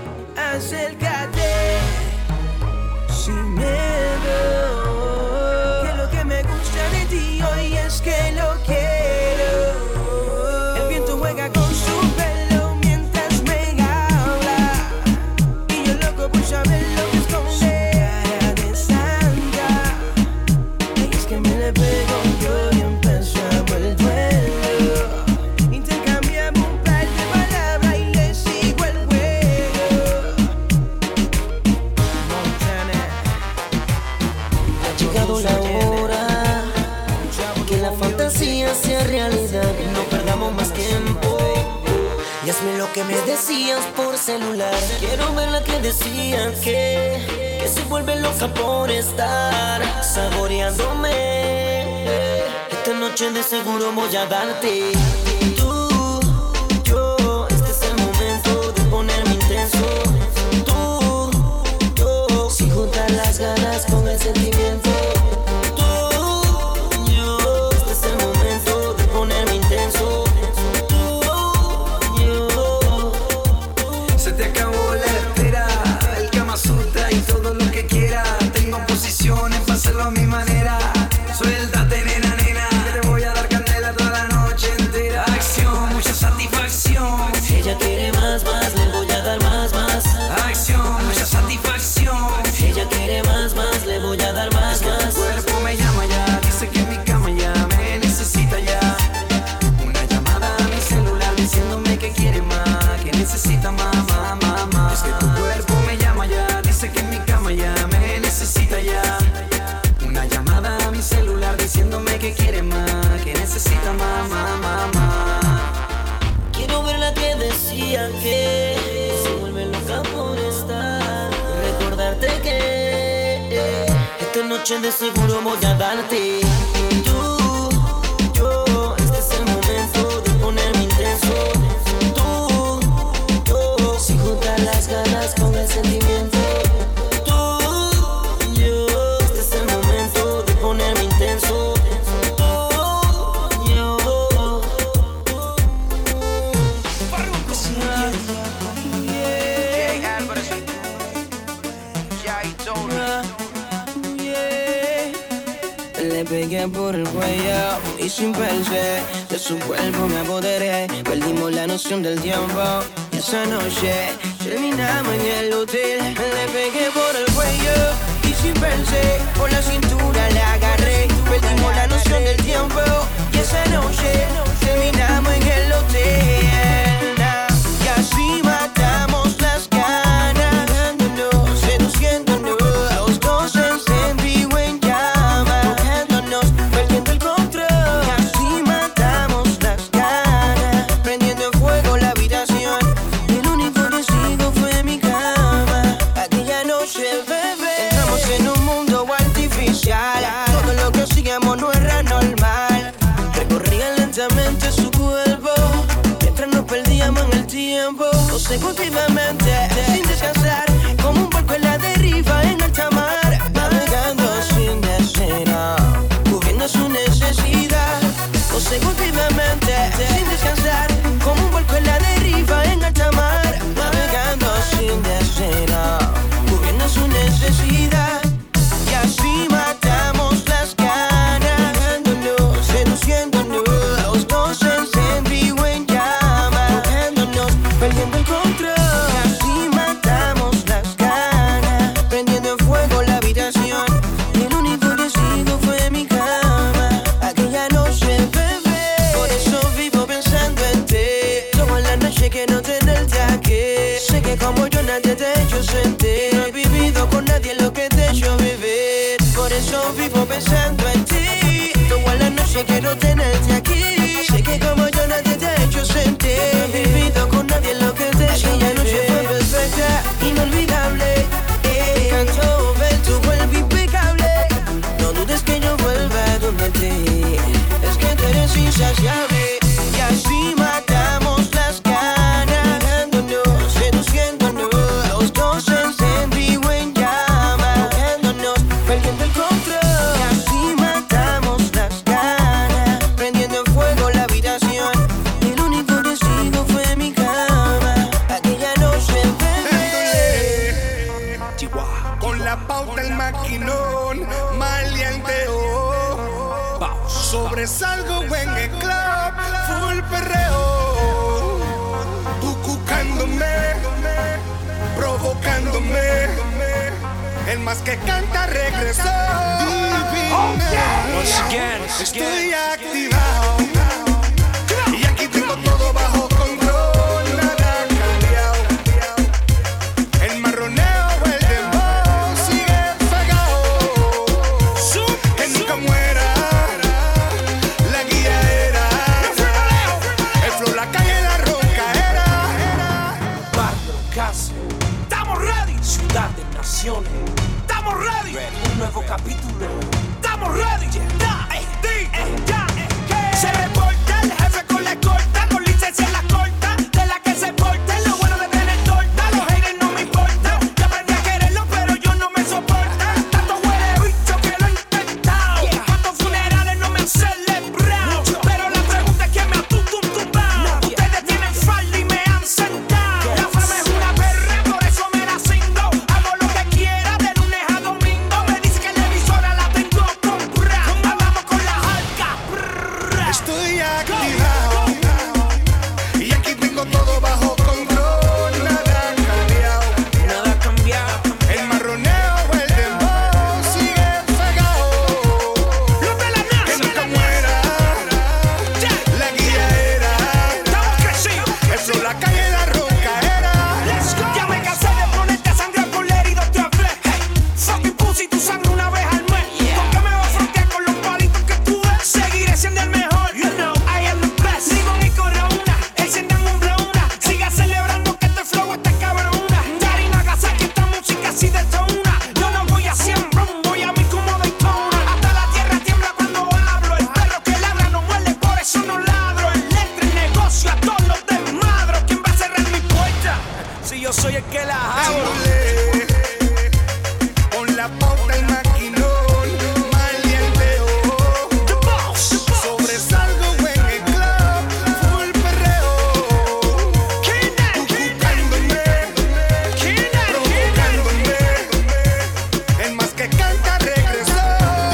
Acércate sin miedo. Que lo que me gusta de ti hoy es que lo quiero. El viento juega con su pelo mientras me habla. Y yo loco por saber lo que esconde. Cara de santa. Y es que me le pego yo y empezamos el duelo. Intercambiamos un par de palabras y le sigo el juego. Montana. Ha llegado la hora que la fantasía sea realidad. No perdamos más tiempo y hazme lo que me decías por celular. Quiero ver la que decían que Que se vuelve loca por estar saboreándome. Esta noche de seguro voy a darte. Tú, yo, este es el momento de ponerme intenso. Tú, yo, sin juntar las ganas con el sentimiento. Hacerlo a mi manera. Suéltate, nena, nena. Que te voy a dar candela toda la noche entera. Acción, mucha satisfacción. Si ella quiere más, más, le voy a dar más, más. Acción, mucha satisfacción. Si ella quiere más, más, le voy a dar más, más. Tu cuerpo me llama ya, dice que en mi cama ya me necesita ya. Una llamada a mi celular diciéndome que quiere más, que necesita más, más, más, más. Es que tu cuerpo me llama ya, dice que en mi cama ya me necesita ya. Celular diciéndome que quiere más, que necesita más, más, más, más. Quiero ver la que decía que se vuelve loca por estar. Recordarte que esta noche de seguro voy a darte. Tú, yo, este es el momento de ponerme intenso. Tú, yo, sin juntar las ganas con el sentimiento. Le pegué por el cuello y sin pensar de su cuerpo me apoderé. Perdimos la noción del tiempo y esa noche terminamos en el hotel. Le pegué por el cuello y sin pensar por la cintura la agarré. Perdimos la noción del tiempo y esa noche consecutivamente, sin descansar, como un barco en la deriva en alta mar, navegando sin destino, cubriendo su necesidad. Consecutivamente, sin descansar, como un barco en la deriva en alta mar, navegando sin destino, cubriendo su necesidad. Y así matamos las ganas, dejándonos, seduciéndonos, los dos encendidos en llama, tocándonos, perdiendo el control. Y así matamos las ganas, prendiendo en fuego la habitación. Y el único decido fue mi cama, aquella noche, bebé. Por eso vivo pensando en ti, toda la noche que no tenerte aquí. Sé que como yo nadie te ha hecho sentir, no he vivido con nadie lo que te he hecho vivir. Por eso vivo pensando en ti, toda la noche quiero tenerte aquí. Sé que como yo nadie te ha hecho sentir, no he vivido con nadie lo que te he hecho vivir. Aquella noche fue perfecta, inolvidable. Me encantó ver tu cuerpo impecable. No dudes que yo vuelva donde ti, es que tú eres insaciable. Y así matamos las ganas, dejándonos, seduciéndonos, los dos encendidos en llama, tocándonos, perdiendo el control. Y así matamos las ganas, prendiendo en fuego la habitación. Y el único testigo fue mi cama, aquella noche, bebé. Chihuahua. Con la pauta el maquinón, maleanteo. Sobresalgo en el club, full perreo. Tú cucándome, provocándome. El más que canta regresó. Divina. Once again, Estoy activado. Y aquí tengo todo bajo control. Nada ha cambiado. El marroneo, el dembow sigue pegado. Que nunca muera. La guía era. El flow, la calle, la roncaera. Barrio, casa, Estamos ready. ciudad de naciones, Estamos ready. un nuevo capítulo. Estamos ready. Da, eh, di, eh, ya, eh, que. Se reporta el jefe con la escolta, con licencia en la corta, de la que se porta. Lo bueno de tener torta, los haters no me importan. Ya aprendí a quererlo, pero yo no me soporta. Tanto huele bicho que lo he intentado. Cuántos funerales no me han celebrado. Pero la pregunta es quién me ha tutumbado. Ustedes tienen falda y me han sentado. La fama es una perra, por eso me la cingo. Hago lo que quiera de lunes a domingo. Me dice que la emisora la tengo comprada. Hablamos con la jalca. Estoy activado. Y aquí tengo todo bajo control. Nada ha cambiado. Nada ha cambiado. El marroneo, el dembow sigue pegado. Los de la NASA. Que nunca muera. La guía era. Estamos crecidos. El flow, la calle, la roncaera. Let's go. Ya me cansé de ponerte a sangrar con la herida otra vez. Hey, fucking pussy, tu sangre una vez al mes. ¿Por qué me vas a frontear con los palitos que tú ves? Seguiré siendo el mejor. You know I am the best. Limón y corona, enciendan un blona. Siga celebrando que este flow está cabrona. Yari Nagasaki, esta música así detona. Yo no voy a cien rum, voy a mí como Daytona. Hasta la tierra tiembla cuando hablo. El perro que ladra no muerde, por eso no ladro. El letra, el negocio, a todos los desmadro. ¿Quién va a cerrar mi puerta? Si yo soy el que la hago. Dándole. Con la pauta el maquinón, maleanteo. The boss, the boss. Sobresalgo en el club, full perreo. Kidnap, Tú kidnap, cucándome, kidnap, provocándome. El más que canta regresó.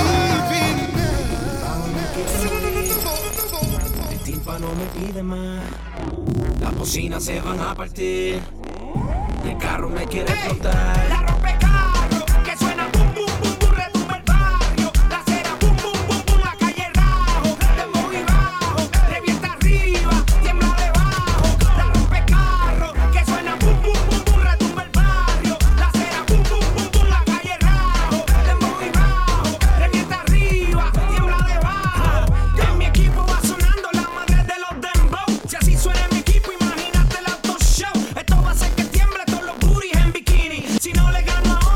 El tímpano me pide más, las bocinas se van a partir, el carro me quiere explotar. La rompecarro, que suena bum bum bum bum, retumba el barrio. La acera bum bum bum bum, la calle rajo. Dembow y bajo, revienta arriba, tiembla debajo. La rompecarro, que suena bum bum bum bum, retumba el barrio. La acera bum bum bum bum, la calle rajo. Dembow y bajo, revienta arriba, tiembla debajo. En mi equipo va sonando la madre de los dembow. Si así suena mi equipo, imagínate el auto show. Esto va a hacer que tiemble todos los booties en bikini. Si no le gano a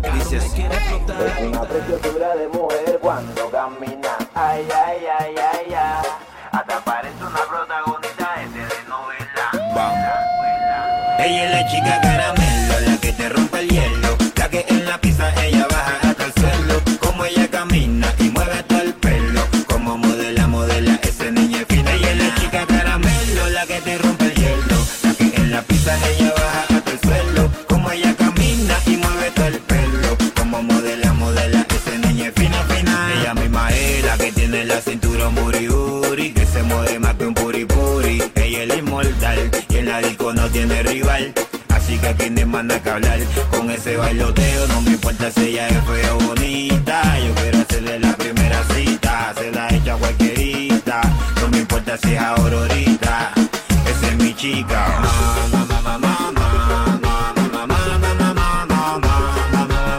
Dice así. Es una preciosura de mujer cuando camina. Ay, ay, ay, ay, ay. Hasta parece una protagonista de telenovela. Ella es la chica caramelo, la que te rompe el hielo, la que en la pista ella baja hasta el suelo. Como ella camina y mueve todo el pelo, como modela, modela, esa niña es fina. Ella es la chica caramelo, la que te rompe el hielo, la que en la pista ella baja hasta el suelo. Como ella camina y mueve todo el pelo, como modela, modela, esa niña es fina, fina. Ella misma es la que tiene la cintura buri buri, que se mueve más que un puri puri. Ella es la inmortal y en la disco no tiene rival. Así que aquí ni manda que hablar con ese bailoteo. No me importa si ella es fea o bonita. Yo quiero hacerle la primera cita, se la echa cualquierita. No me importa si es ahora o ahorita. Esa es mi chica. Mamá, mamá, mamá, mamá, mamá, mamá, mamá, mamá,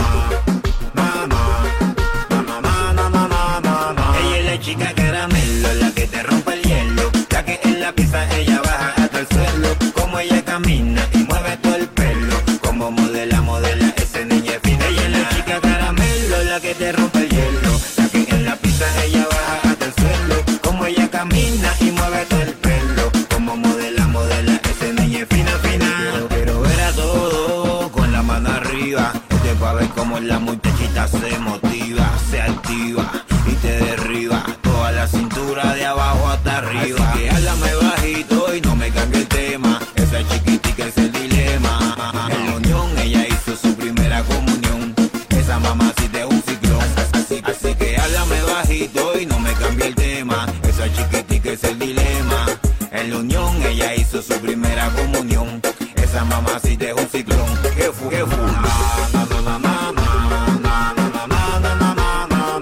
mamá, mamá, mamá. Ella es la chica caramelo, la que te rompe el hielo, la que en la pista ella baja hasta el suelo. Como ella camina y mueve todo el pelo, como modela, modela, ese niña es fina. Ella es la chica caramelo, la que te rompe el hielo, la que en la pista ella baja hasta el suelo. Como ella camina y mueve todo el pelo, como modela, modela, ese niña es fina, fina. Yo quiero ver a todos con la mano arriba, este pa' ver cómo la muchachita se motiva, se activa y te derriba toda la cintura de abajo hasta arriba. Así que háblame bajito y no me cambie el tema, esa chiquitica es el dilema. En la unión ella hizo su primera comunión, esa mamacita es un ciclón. Así, así que háblame bajito y no me cambie el tema, esa chiquitica es el dilema. En la unión ella hizo su primera comunión, esa mamacita es un ciclón. ¿Qué fue? ¿Qué fue? Mamá, mamá, mamá, mamá, mamá, mamá, mamá,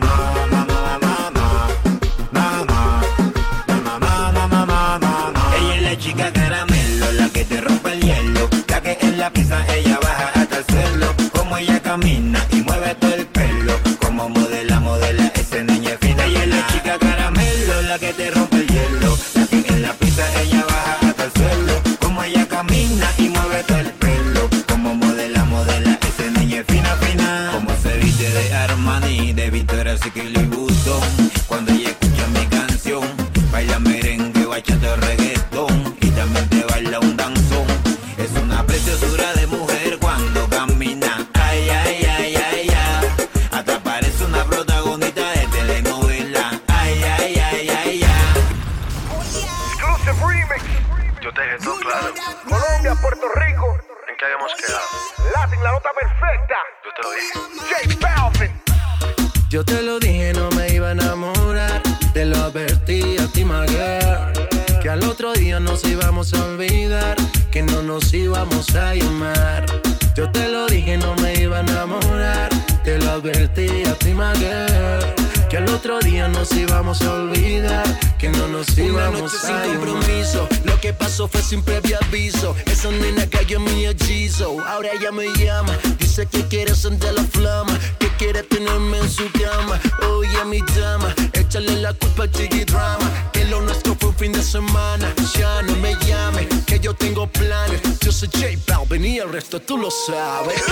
mamá, mamá. Ella es la chica caramelo, la que te rompe el hielo, la que en la pista ella baja hasta el suelo. Como ella camina y mueve todo el pelo, como modela, modela, ese niña es fina. Ella es la chica caramelo, la que te rompe el hielo, la que en la pista ella baja hasta el suelo. Como ella camina y mueve todo el pelo, como modela, modela, ese niña es fina, fina. Como se viste de Armani, de Victoria's Secret y Button. Cuando ella escucha mi canción, baila merengue, bachata o reggaetón, y también te baila un danzón. Es una preciosura de mujer cuando camina. Ay, ay, ay, ay, ay. Hasta parece una protagonista de telenovela. Ay, ay, ay, ay, ay. Exclusive remix. Yo te dejé todo claro. Colombia, Puerto Rico. ¿En qué habíamos quedado? Latin, la nota perfecta. Yo te lo dije. J Balvin. Yo te lo dije, no me iba a enamorar. Te lo advertí a ti, my girl, que al otro día nos íbamos a olvidar, que no nos íbamos a llamar. Yo te lo dije, no me iba a enamorar. Te lo advertí a ti, my girl, que al otro día nos íbamos a olvidar, que no nos íbamos a llamar. Una noche sin compromiso, lo que pasó fue sin previo aviso. Esa nena cayó en mi hechizo, ahora ella me llama, dice que quiere encender la flama, que quiere tenerme en su cama. Oye, mi dama, échale la culpa al Chiqui Drama, que lo nuestro fue un fin de semana. Ya no me llame, que yo tengo planes. Yo soy J Balvin y el resto tú lo sabes.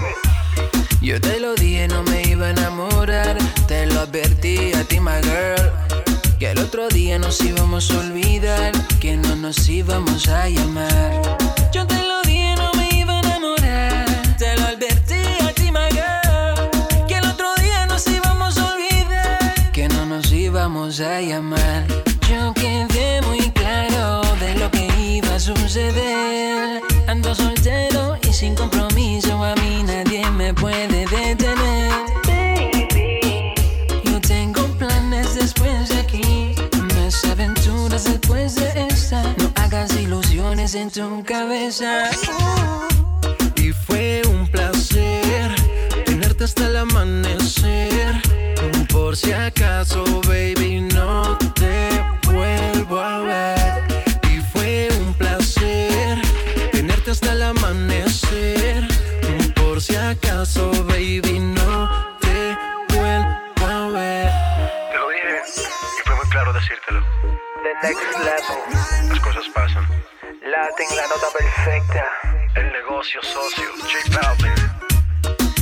Yo te lo dije, no me iba a enamorar. Te lo advertí a ti, my girl, que el otro día nos íbamos a olvidar, que no nos íbamos a llamar. Yo te lo dije, no me iba a enamorar. Te lo advertí a ti, my girl, que el otro día nos íbamos a olvidar, que no nos íbamos a llamar. Yo quedé muy claro de lo que iba a suceder. Ando soltero y sin compromiso, a mí nadie me puede detener. Baby, yo tengo planes después de aquí, más aventuras después de esta. No hagas ilusiones en tu cabeza. Uh. Y fue un placer tenerte hasta el amanecer. Por si acaso, baby, no te vuelvo a ver. Y fue un placer tenerte hasta el amanecer. Por si acaso, baby, no te vuelvo a ver. Te lo dije y fue muy claro decírtelo. The next level. Las cosas pasan. Latin, la nota perfecta. El negocio socio. J Balvin.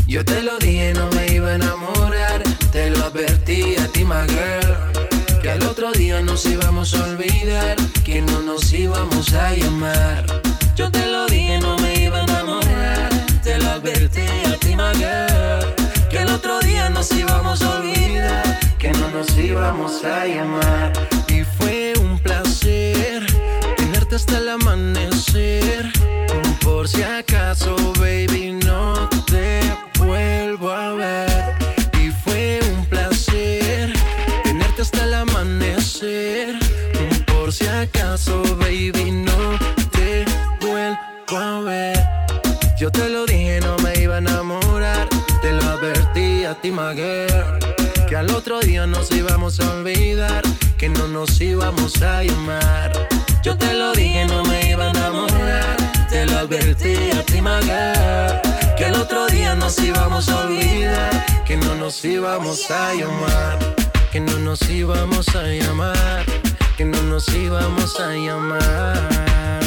Yo te lo dije, no me iba a enamorar. Te lo advertí a ti, my girl, que al otro día nos íbamos a olvidar, que no nos íbamos a llamar. Yo te lo dije, no me iba a enamorar. Te lo advertí a ti, my girl, que al otro día nos íbamos a olvidar, que no nos íbamos a llamar. Y fue un placer tenerte hasta el amanecer. Por si acaso, baby, no te vuelvo a ver. Y fue un placer tenerte hasta el amanecer. Por si acaso, baby, no te vuelvo a ver. Yo te lo dije, no me iba a enamorar. Te lo advertí a ti, my girl, que al otro día nos íbamos a olvidar, que no nos íbamos a llamar. Yo te lo dije, no me iba a enamorar. Te lo advertí a ti, my girl, que al otro día nos íbamos a olvidar, que no nos íbamos a llamar, que no nos íbamos a llamar, que no nos íbamos a llamar.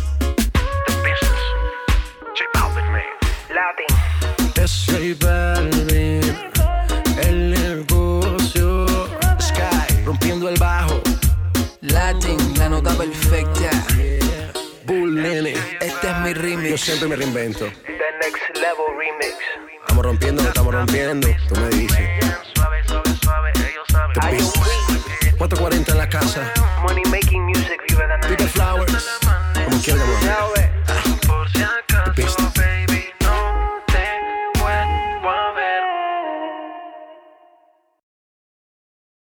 Es J Balvin, el negocio. Sky, rompiendo el bajo. Latin, la nota perfecta. Bull Nene, este es mi remix. Yo siempre me reinvento. The Next Level Remix. Estamos rompiendo, lo estamos rompiendo. Tú me dices. Suave, suave, suave, ellos saben. cuatro cuarenta en la casa. Money making music.